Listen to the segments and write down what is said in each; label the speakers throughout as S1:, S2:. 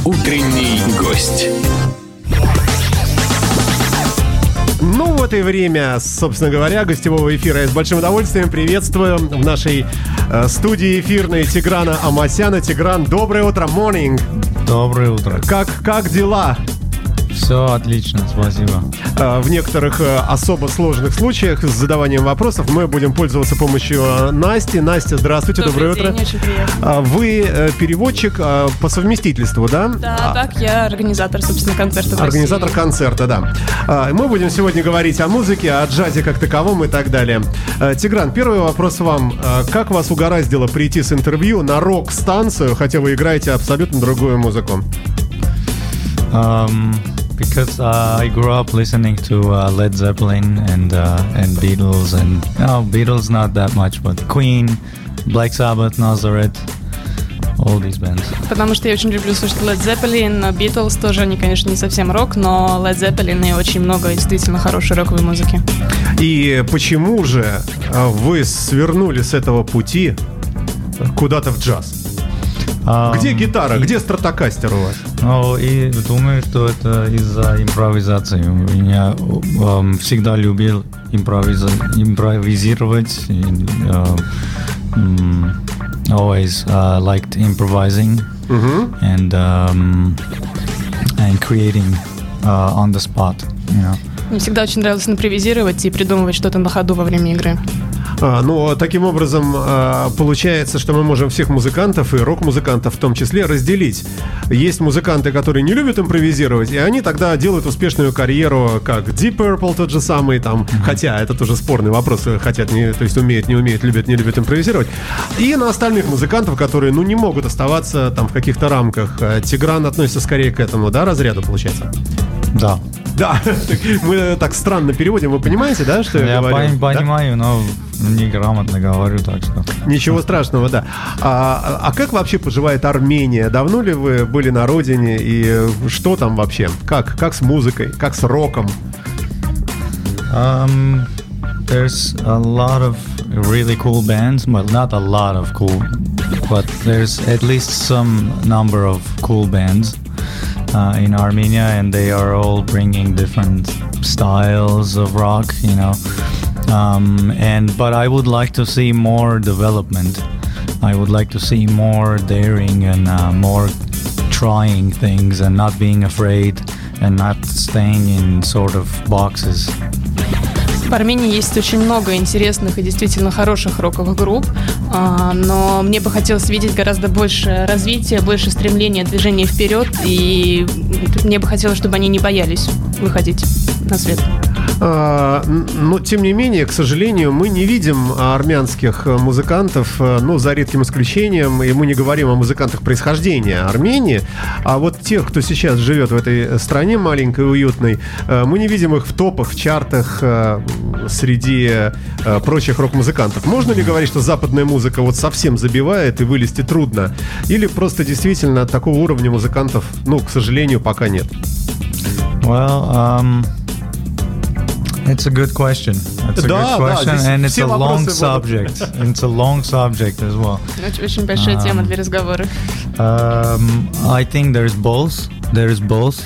S1: Утренний гость.
S2: Ну вот и время, собственно говоря, гостевого эфира. Я с большим удовольствием приветствую в нашей студии эфирной Тиграна Амасяна. Тигран, доброе утро, morning.
S3: Доброе утро.
S2: Как дела?
S3: Все отлично, спасибо.
S2: В некоторых особо сложных случаях с задаванием вопросов мы будем пользоваться помощью Насти. Настя, здравствуйте, доброе утро.
S4: День, очень приятно.
S2: Вы переводчик по совместительству, да?
S4: Да, так, я организатор, собственно, концерта в
S2: Организатор
S4: России.
S2: Концерта, да. Мы будем сегодня говорить о музыке, о джазе как таковом и так далее. Тигран, первый вопрос вам. Как вас угораздило прийти с интервью на рок-станцию, хотя вы играете абсолютно другую музыку?
S3: Because I grew up listening to Led Zeppelin and Beatles, and Beatles not that much, but Queen, Black Sabbath, Nazareth, all these bands.
S4: Потому что я очень люблю слушать Led Zeppelin, Beatles тоже, они, конечно, не совсем рок, но Led Zeppelin и очень много действительно хорошей роковой музыки.
S2: И почему же вы свернули с этого пути куда-то в джаз? Где гитара? Где стратокастер у вас?
S3: Ну, и думаю, что это из-за импровизации. Я всегда любил импровизировать. Always liked improvising and creating on the spot. You know.
S4: Мне всегда очень нравилось импровизировать и придумывать что-то на ходу во время игры.
S2: Ну, таким образом, получается, что мы можем всех музыкантов и рок-музыкантов в том числе разделить. Есть музыканты, которые не любят импровизировать, и они тогда делают успешную карьеру, как Deep Purple тот же самый, там, хотя это тоже спорный вопрос, хотят, то есть умеют, не умеют, любят, не любят импровизировать. И на остальных музыкантов, которые, не могут оставаться там в каких-то рамках. Тигран относится скорее к этому, да, разряду, получается?
S3: Да.
S2: Да, мы так странно переводим, вы понимаете, да, что я говорю?
S3: Я понимаю, но неграмотно говорю, так что...
S2: Ничего страшного, да. А как вообще поживает Армения? Давно ли вы были на родине и что там вообще? Как с музыкой, как с роком?
S3: There's a lot of really cool bands, well, not a lot of cool, but there's at least some number of cool bands in Armenia, and they are all bringing different styles of rock, you know. But I would like to see more development. I would like to see more daring and more trying things and not being afraid and not staying in sort of boxes.
S4: В Армении есть очень много интересных и действительно хороших роковых групп, но мне бы хотелось видеть гораздо больше развития, больше стремления, движения вперед, и мне бы хотелось, чтобы они не боялись выходить на свет.
S2: Но, тем не менее, к сожалению, мы не видим армянских музыкантов, за редким исключением, и мы не говорим о музыкантах происхождения Армении, а вот тех, кто сейчас живет в этой стране маленькой, уютной, мы не видим их в топах, в чартах среди прочих рок-музыкантов. Можно ли говорить, что западная музыка вот совсем забивает и вылезти трудно? Или просто действительно такого уровня музыкантов, к сожалению, пока нет?
S3: Well, it's a good question. It's a good question, and it's a long subject. It's a long subject as well.
S4: Очень большая тема для разговора.
S3: I think there's both. There's both.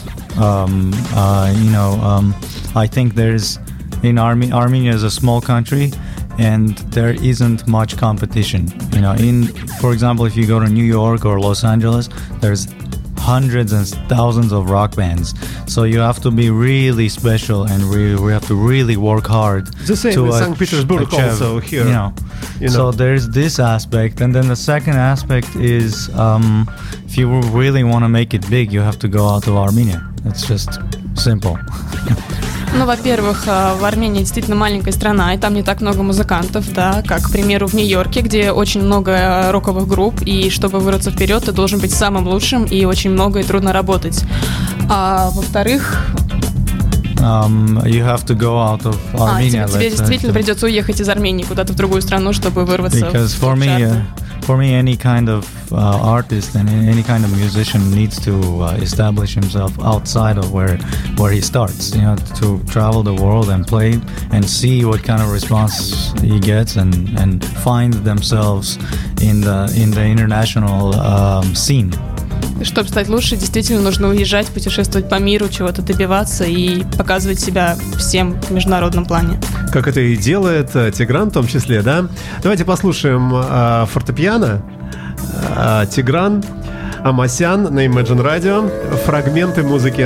S3: I think there's Armenia is a small country, and there isn't much competition. For example, if you go to New York or Los Angeles, there's hundreds and thousands of rock bands. So you have to be really special, and we have to really work hard.
S2: The same in St. Petersburg also here.
S3: So there's this aspect, and then the second aspect is if you really want to make it big, you have to go out of Armenia. It's just simple.
S4: Во-первых, в Армении действительно маленькая страна, и там не так много музыкантов, да, как, к примеру, в Нью-Йорке, где очень много роковых групп, и чтобы вырваться вперед, ты должен быть самым лучшим, и очень много и трудно работать. А во-вторых...
S3: You have to go out of Armenia.
S4: Тебе действительно придется уехать из Армении куда-то в другую страну, чтобы вырваться.
S3: Because for me, any kind of artist and any kind of musician needs to establish himself outside of where he starts. To travel the world and play and see what kind of response he gets and find themselves in the international scene.
S4: Чтобы стать лучше, действительно нужно уезжать, путешествовать по миру, чего-то добиваться и показывать себя всем в международном плане.
S2: Как это и делает Тигран в том числе, да? Давайте послушаем фортепиано. Тигран Амасян на Imagine Radio. Фрагменты музыки.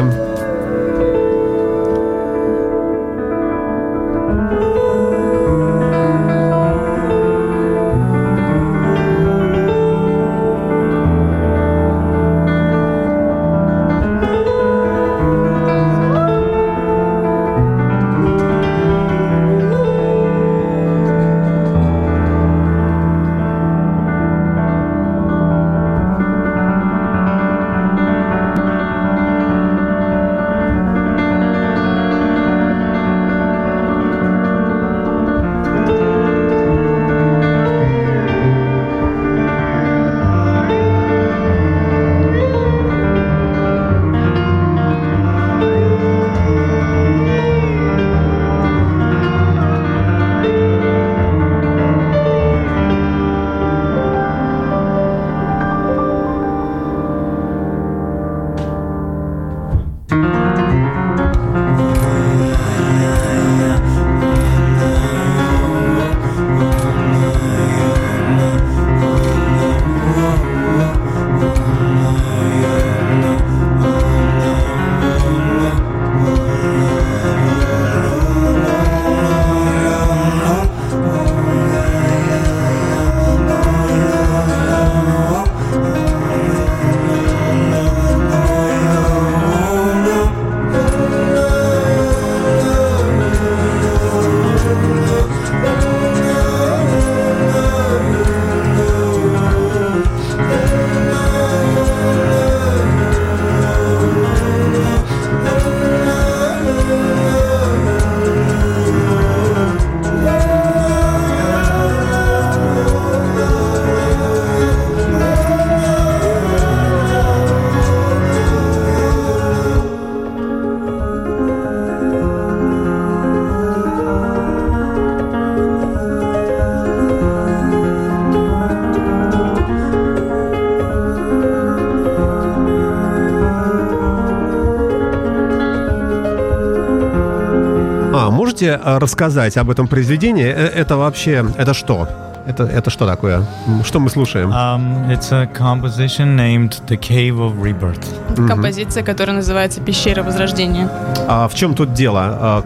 S2: Можете рассказать об этом произведении? Это вообще, это что? Это что такое? Что мы слушаем?
S3: It's a composition named The Cave of Rebirth.
S4: Это композиция, которая называется «Пещера Возрождения».
S2: А в чем тут дело?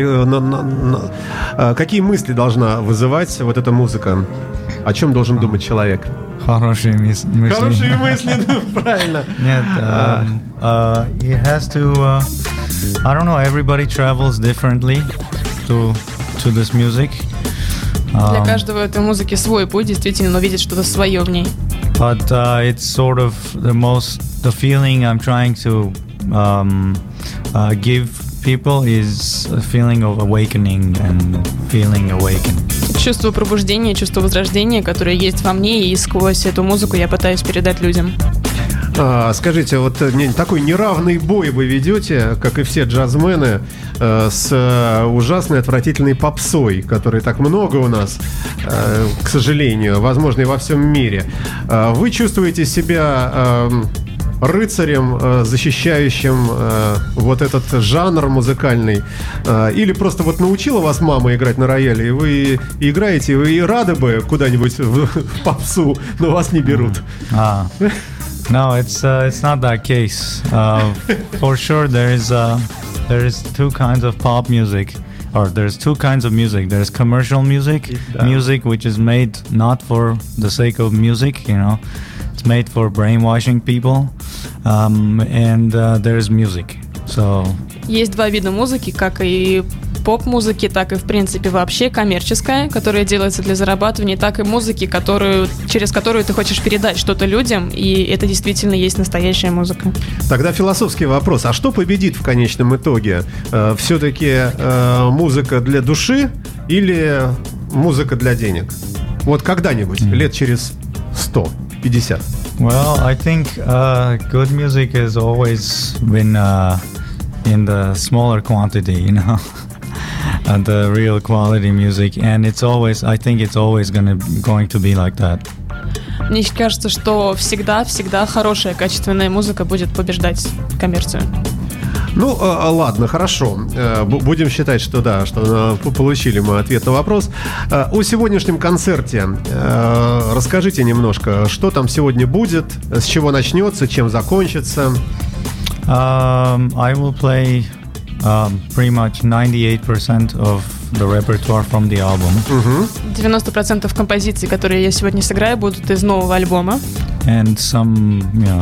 S2: Какие мысли должна вызывать вот эта музыка? О чем должен думать человек?
S3: Хорошие мысли.
S2: Хорошие мысли, правильно.
S3: Нет, it has to... I don't know, everybody travels differently to this music.
S4: Для каждого этой музыки свой путь, действительно, но видит что-то свое в ней.
S3: But it's sort of the feeling I'm trying to give people is a feeling of awakening and feeling awakened.
S4: Чувство пробуждения, чувство возрождения, которое есть во мне, и сквозь эту музыку я пытаюсь передать людям.
S2: Скажите, вот такой неравный бой вы ведете, как и все джазмены, с ужасной, отвратительной попсой, которой так много у нас, к сожалению, возможно, и во всем мире. Вы чувствуете себя рыцарем, защищающим вот этот жанр музыкальный, или просто вот научила вас мама играть на рояле, и вы играете, и вы рады бы куда-нибудь в попсу, но вас не берут?
S3: No, it's not that case. For sure, there is two kinds of pop music, or there's two kinds of music. There's commercial music, music which is made not for the sake of music, you know, it's made for brainwashing people, and there's music. So
S4: есть два вида музыки, как и поп-музыки, так и, в принципе, вообще коммерческая, которая делается для зарабатывания, так и музыки, через которую ты хочешь передать что-то людям, и это действительно есть настоящая музыка.
S2: Тогда философский вопрос. А что победит в конечном итоге? Все-таки музыка для души или музыка для денег? Вот когда-нибудь, лет через 100-50.
S3: Well, I think good music has always been in the smaller quantity, you know. The real quality music, and I think it's always going to be like that.
S4: Мне кажется, что всегда хорошая, качественная музыка будет побеждать коммерцию.
S2: Ну, ладно, хорошо. Будем считать, что да, что получили мы ответ на вопрос. О сегодняшнем концерте расскажите немножко, что там сегодня будет, с чего начнется, чем закончится.
S3: I will play pretty much 98% of the repertoire from the album.
S4: 90% композиций, которые я сегодня сыграю, будут из нового альбома.
S3: And some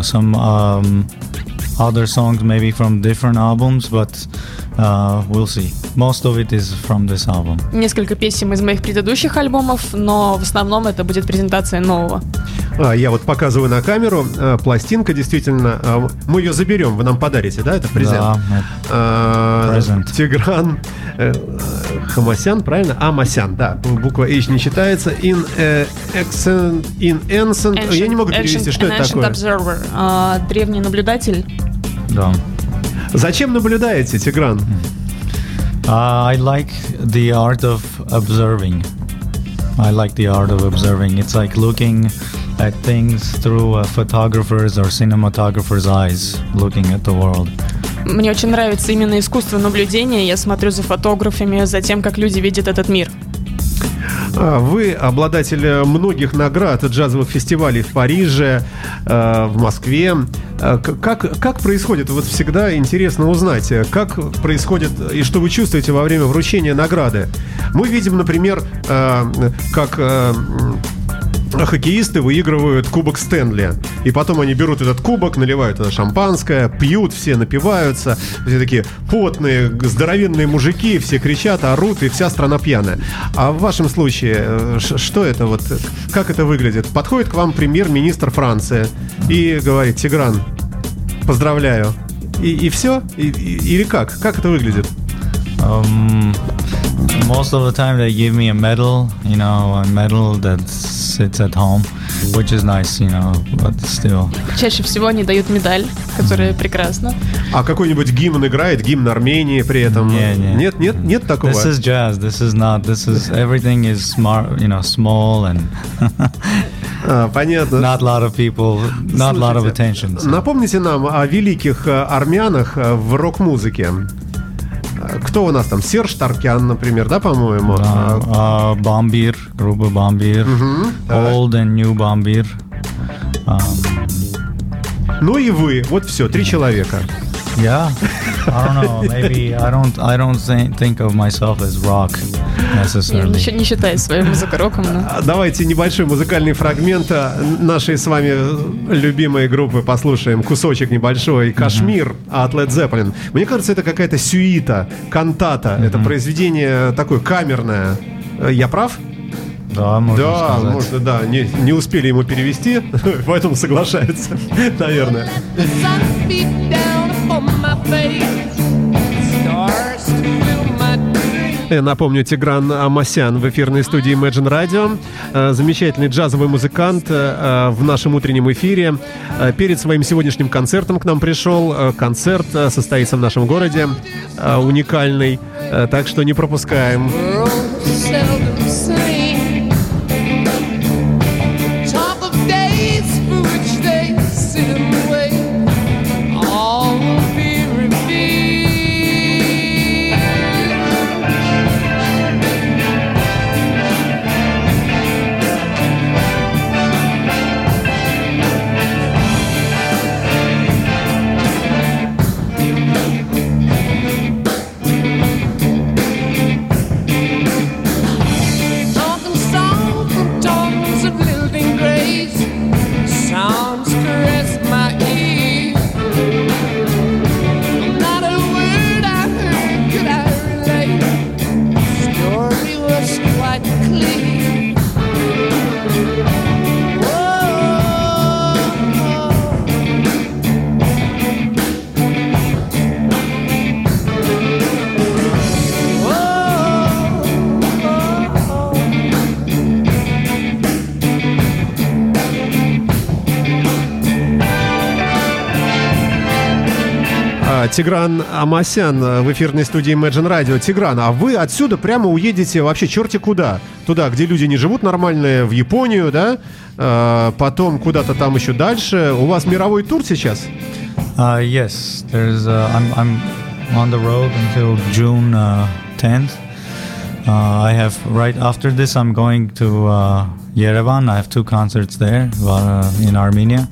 S3: other songs maybe from different albums, but we'll see. Most of it is from this album.
S4: Несколько песен из моих предыдущих альбомов, но в основном это будет презентация нового.
S2: Я вот показываю на камеру. Пластинка, действительно, мы ее заберем, вы нам подарите, да, это презент?
S3: Да, презент.
S2: Тигран Хамасян, правильно? Амасян, да, буква H не читается. Ancient, я не могу перевести, что это такое?
S4: Observer, древний наблюдатель.
S3: Да.
S2: Зачем наблюдаете, Тигран?
S3: I like the art of observing. I like the art of observing. It's like looking at things through a photographer's or cinematographer's eyes, looking at the world.
S4: Мне очень нравится именно искусство наблюдения. Я смотрю за фотографами, за тем, как люди видят этот мир.
S2: Вы обладатель многих наград джазовых фестивалей в Париже, в Москве. Как происходит? Вот всегда интересно узнать, как происходит и что вы чувствуете во время вручения награды. Мы видим, например, как хоккеисты выигрывают кубок Стэнли. И потом они берут этот кубок, наливают это шампанское, пьют, все напиваются. Все такие потные, здоровенные мужики, все кричат, орут, и вся страна пьяная. А в вашем случае, что это вот, как это выглядит? Подходит к вам премьер-министр Франции и говорит: Тигран, поздравляю. И все? Или как? Как это выглядит?
S3: Most of the time they give me a medal that sits at home, which is nice, but still.
S4: Чаще всего они дают медаль, которая прекрасна.
S2: А какой-нибудь гимн играет, гимн Армении при этом? Нет такого?
S3: This is jazz, everything is smart, small and
S2: понятно.
S3: Not a lot of people, not a lot of attention. So.
S2: Напомните нам о великих армянах в рок-музыке. Кто у нас там? Серж Таркян, например, да, по-моему?
S3: Бомбир, группа Бомбир, Old and New Бомбир.
S2: Ну и вы, вот все, 3 человека.
S3: Yeah, I don't know. Maybe I don't think of myself as rock necessarily.
S4: Я не считаю свою музыку роком. Но...
S2: Давайте небольшой музыкальный фрагмент нашей с вами любимой группы послушаем. Кусочек небольшой. «Кашмир» от Led Zeppelin. Мне кажется, это какая-то сюита, кантата. Это произведение такое камерное. Я прав?
S3: Да, можно сказать.
S2: Можно, да. Не успели ему перевести, поэтому соглашается, наверное. Напомню, Тигран Амасян в эфирной студии Imagine Radio. Замечательный джазовый музыкант в нашем утреннем эфире. Перед своим сегодняшним концертом к нам пришел. Концерт состоится в нашем городе. Уникальный. Так что не пропускаем. Тигран Амасян в эфирной студии Imagine Radio. Тигран, а вы отсюда прямо уедете вообще черти куда? Туда, где люди не живут нормально, в Японию, да? Потом куда-то там еще дальше. У вас мировой тур сейчас?
S3: Yes, there's. I'm on the road until June 10th. I have right after this. I'm going to Yerevan. I have 2 concerts there in Armenia.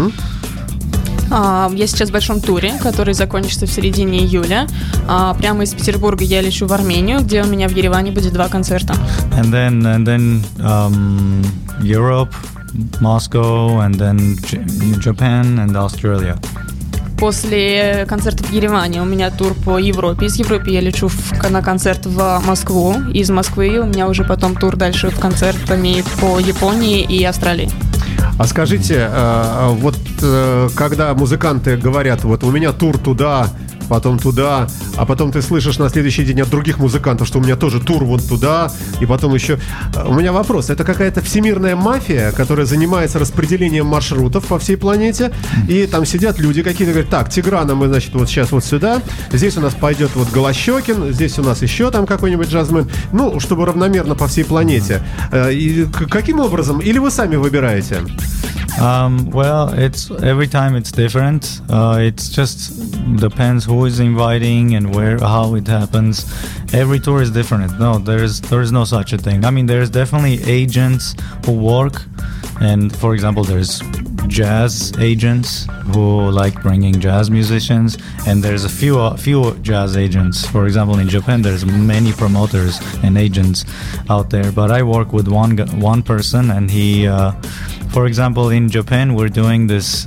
S4: Я сейчас в большом туре, который закончится в середине июля. Прямо из Петербурга я лечу в Армению, где у меня в Ереване будет 2 концерта.
S3: And then Europe, Moscow, and then Japan and Australia.
S4: После концерта в Ереване у меня тур по Европе. Из Европы я лечу на концерт в Москву. Из Москвы у меня уже потом тур дальше в концертами по Японии и Австралии.
S2: А скажите, вот когда музыканты говорят, вот у меня тур туда, потом туда, а потом ты слышишь на следующий день от других музыкантов, что у меня тоже тур вот туда, и потом еще... У меня вопрос, это какая-то всемирная мафия, которая занимается распределением маршрутов по всей планете, и там сидят люди какие-то, говорят, так, Тиграна мы, значит, вот сейчас вот сюда, здесь у нас пойдет вот Голощёкин, здесь у нас еще там какой-нибудь джазмен, ну, чтобы равномерно по всей планете. И каким образом? Или вы сами выбираете?
S3: Well, it's every time it's different. It's just depends who is inviting and where, how it happens. Every tour is different. No, there is no such a thing. I mean, there's definitely agents who work, and for example, there's jazz agents who like bringing jazz musicians, and there's a few jazz agents. For example, in Japan, there's many promoters and agents out there. But I work with one person, and he. For example, in Japan, we're doing this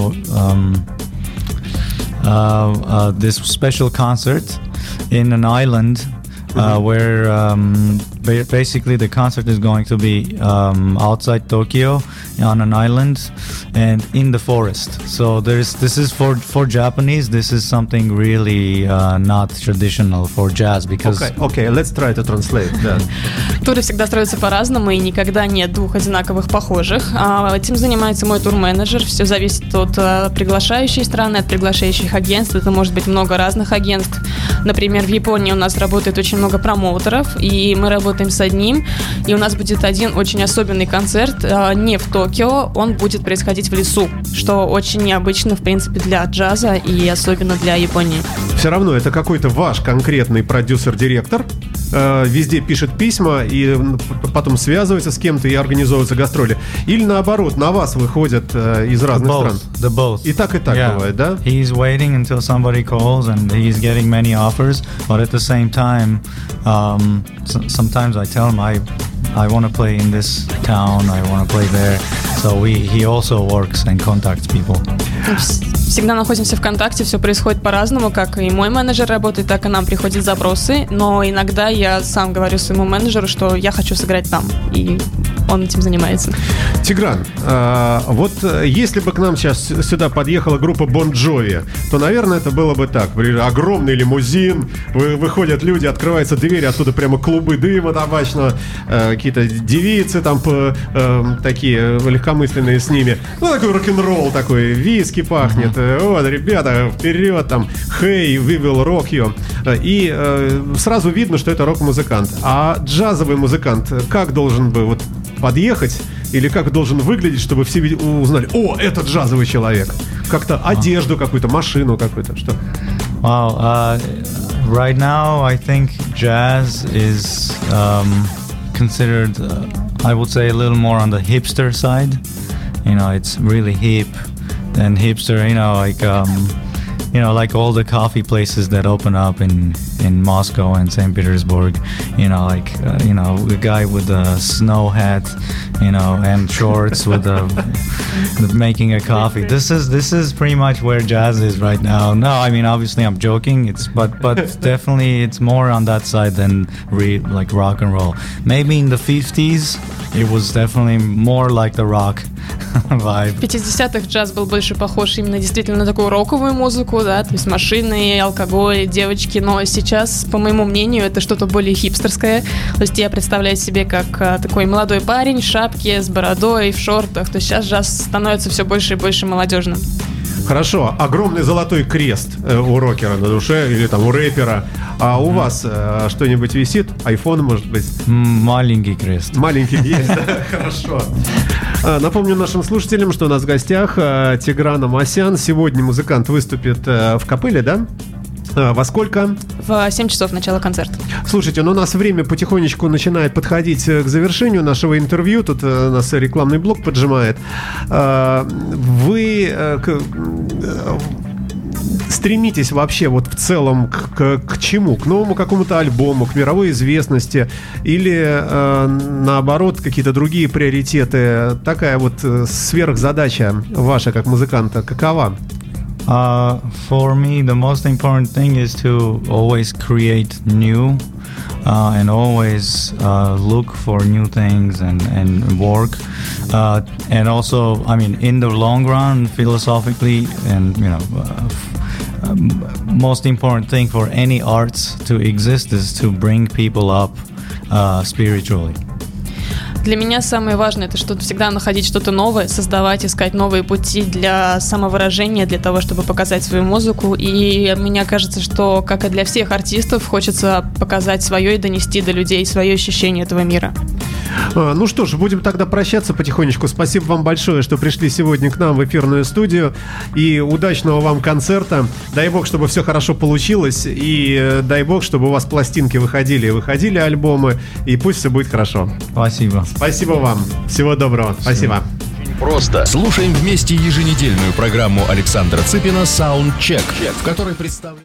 S3: this special concert in an island where basically the concert is going to be outside Tokyo on an island and in the forest. So this is for Japanese. This is something really not traditional for jazz because.
S2: Okay, let's try to translate that.
S4: Туры всегда строятся по-разному, и никогда нет 2 одинаковых похожих. Этим занимается мой турменеджер. Все зависит от приглашающей страны, от приглашающих агентств. Это может быть много разных агентств. Например, в Японии у нас работает очень много промоутеров, и мы работаем с одним. И у нас будет один очень особенный концерт не в Токио, он будет происходить в лесу, что очень необычно, в принципе, для джаза и особенно для Японии.
S2: Все равно это какой-то ваш конкретный продюсер-директор, везде пишет письма и потом связывается с кем-то и организовываются гастроли. Или наоборот, на вас выходят из разных стран.
S3: Both.
S2: И так бывает, да?
S3: He's waiting until somebody calls and he's getting many offers, but at the same time, sometimes I tell him I want to play in this town, I want to play there. So he also works and contacts people.
S4: Всегда находимся в контакте, все происходит по-разному, как и мой менеджер работает, так и нам приходят запросы, но иногда я сам говорю своему менеджеру, что я хочу сыграть там, и он этим занимается.
S2: Тигран, вот если бы к нам сейчас сюда подъехала группа Bon Jovi, то, наверное, это было бы так. Огромный лимузин, выходят люди, открывается дверь, оттуда прямо клубы дыма табачного, какие-то девицы там такие легкомысленные с ними. Ну, такой рок-н-ролл такой, виски пахнет. Вот, ребята, вперед, там, hey, we will rock you. И сразу видно, что это рок-музыкант. А джазовый музыкант как должен бы вот подъехать или как должен выглядеть, чтобы все узнали, о, это джазовый человек? Как-то одежду какую-то, машину какую-то, что?
S3: Wow, right now I think jazz is considered, I would say, a little more on the hipster side. You know, it's really hip and hipster, like all the coffee places that open up in Moscow and St. Petersburg, a guy with a snow hat, and shorts with making a coffee. This is pretty much where jazz is right now. No, I mean, obviously I'm joking. But definitely it's more on that side than like rock and roll. Maybe in the 50s it was definitely more like the rock vibe.
S4: В 50-х джаз был больше похож именно действительно на такую роковую музыку, да, то есть машины, алкоголь, девочки, но сейчас, по моему мнению, это что-то более хипстерское. То есть я представляю себе как такой молодой парень в шапке, с бородой, в шортах. То есть сейчас джаз становится все больше и больше молодежным.
S2: Хорошо, огромный золотой крест у рокера на душе или там у рэпера. А у вас что-нибудь висит? Айфон, может быть?
S3: Маленький крест.
S2: Маленький есть, да? Хорошо. Напомню нашим слушателям, что у нас в гостях Тигран Амасян. Сегодня музыкант выступит в капелле, да? Во сколько?
S4: В 7 часов начала концерта.
S2: Слушайте, ну у нас время потихонечку начинает подходить к завершению нашего интервью. Тут нас рекламный блок поджимает. Вы стремитесь вообще вот в целом к чему? К новому какому-то альбому, к мировой известности? Или наоборот какие-то другие приоритеты? Такая вот сверхзадача ваша как музыканта какова?
S3: For me, the most important thing is to always create new and always look for new things and work. And also, I mean, in the long run, philosophically, and most important thing for any arts to exist is to bring people up spiritually.
S4: Для меня самое важное — это что-то всегда находить что-то новое, создавать, искать новые пути для самовыражения, для того, чтобы показать свою музыку. И мне кажется, что, как и для всех артистов, хочется показать свое и донести до людей свое ощущение этого мира.
S2: Ну что ж, будем тогда прощаться потихонечку. Спасибо вам большое, что пришли сегодня к нам в эфирную студию. И удачного вам концерта. Дай бог, чтобы все хорошо получилось. И дай бог, чтобы у вас пластинки выходили альбомы. И пусть все будет хорошо.
S3: Спасибо.
S2: Спасибо вам. Всего доброго. Спасибо.
S1: Просто слушаем вместе еженедельную программу Александра Цыпина «Саундчек», в которой представлен...